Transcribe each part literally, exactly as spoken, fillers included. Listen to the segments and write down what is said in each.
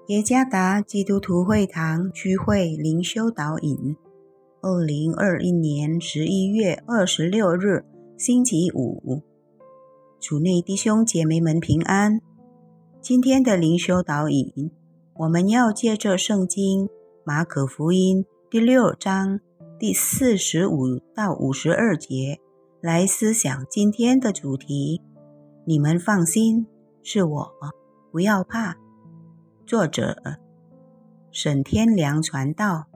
耶加达基督徒会堂区会灵修导引，二零二一年十一月二十六日，星期五。主内弟兄姐妹们平安。今天的灵修导引，我们要借着圣经马可福音第六章第四十五到五十二节来思想今天的主题。你们放心，是我，不要怕。作者沈天良传道。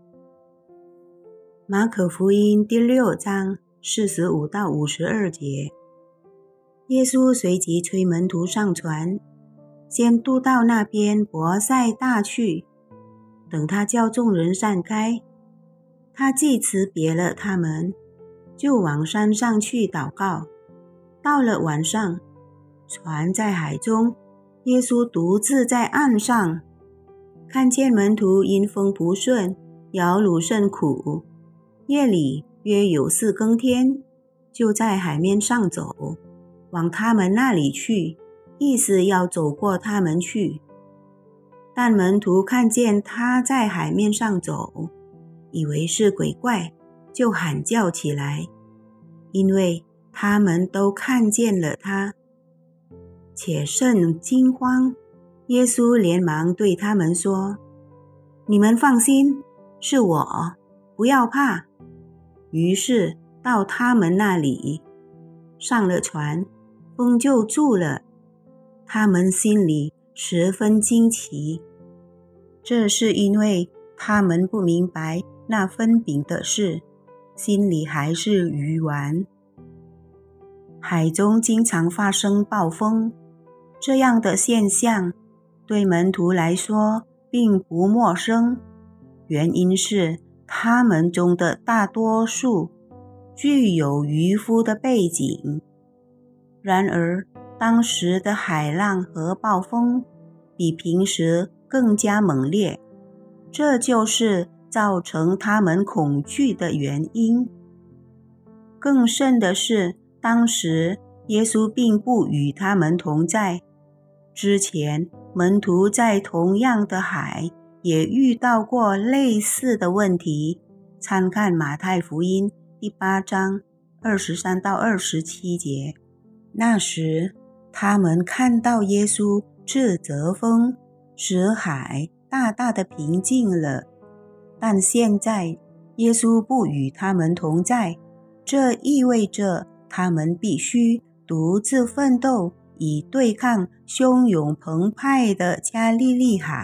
马可福音第六章四十五到五十二节，耶稣随即催门徒上船，先渡到那边伯赛大去。等他叫众人散开，他既辞别了他们，就往山上去祷告。到了晚上，船在海中，耶稣独自在岸上，看见门徒因风不顺，摇橹甚苦。夜里约有四更天，就在海面上走，往他们那里去，意思要走过他们去。但门徒看见他在海面上走，以为是鬼怪，就喊叫起来，因为他们都看见了他，且甚惊慌。耶稣连忙对他们说：你们放心，是我，不要怕。于是到他们那里，上了船，风就住了。他们心里十分惊奇，这是因为他们不明白那分饼的事，心里还是愚顽。海中经常发生暴风，这样的现象对门徒来说并不陌生，原因是他们中的大多数具有渔夫的背景。然而当时的海浪和暴风比平时更加猛烈，这就是造成他们恐惧的原因。更甚的是，当时耶稣并不与他们同在。之前门徒在同样的海也遇到过类似的问题，参看马太福音第八章二十三到二十七节。那时他们看到耶稣斥责风，使海大大的平静了。但现在耶稣不与他们同在，这意味着他们必须独自奋斗，以对抗汹涌澎湃的加利利海。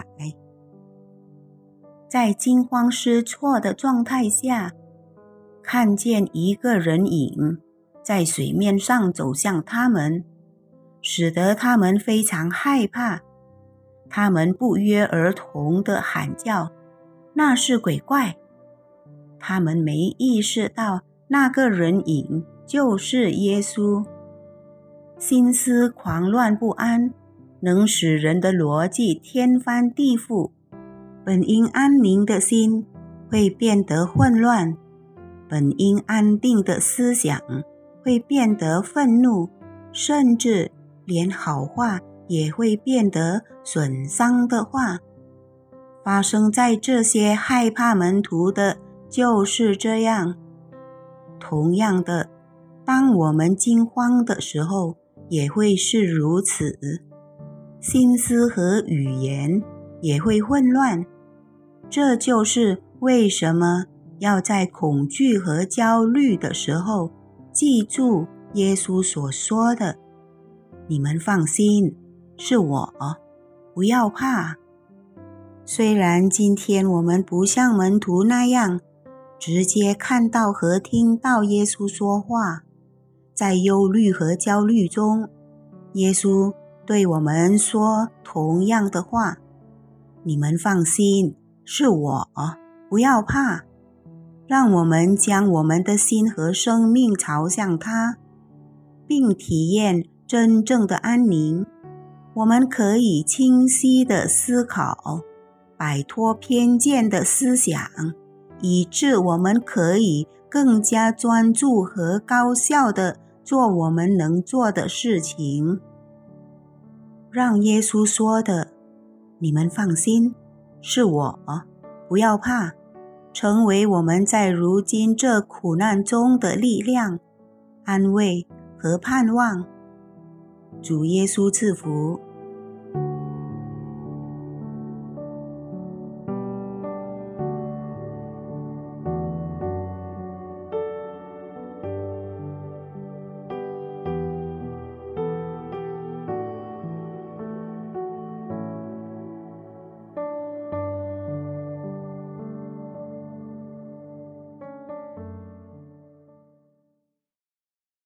在惊慌失措的状态下，看见一个人影在水面上走向他们，使得他们非常害怕。他们不约而同地喊叫，那是鬼怪。他们没意识到那个人影就是耶稣。心思狂乱不安，能使人的逻辑天翻地覆。本应安宁的心会变得混乱，本应安定的思想会变得愤怒，甚至连好话也会变得损伤的话。发生在这些害怕门徒的就是这样。同样的，当我们惊慌的时候，也会是如此，心思和语言也会混乱。这就是为什么要在恐惧和焦虑的时候记住耶稣所说的：你们放心，是我，不要怕。虽然今天我们不像门徒那样直接看到和听到耶稣说话，在忧虑和焦虑中，耶稣对我们说同样的话：你们放心，是我，不要怕。让我们将我们的心和生命朝向他，并体验真正的安宁。我们可以清晰地思考，摆脱偏见的思想，以致我们可以更加专注和高效地做我们能做的事情。让耶稣说的你们放心，是我，不要怕，成为我们在如今这苦难中的力量、安慰和盼望。主耶稣赐福。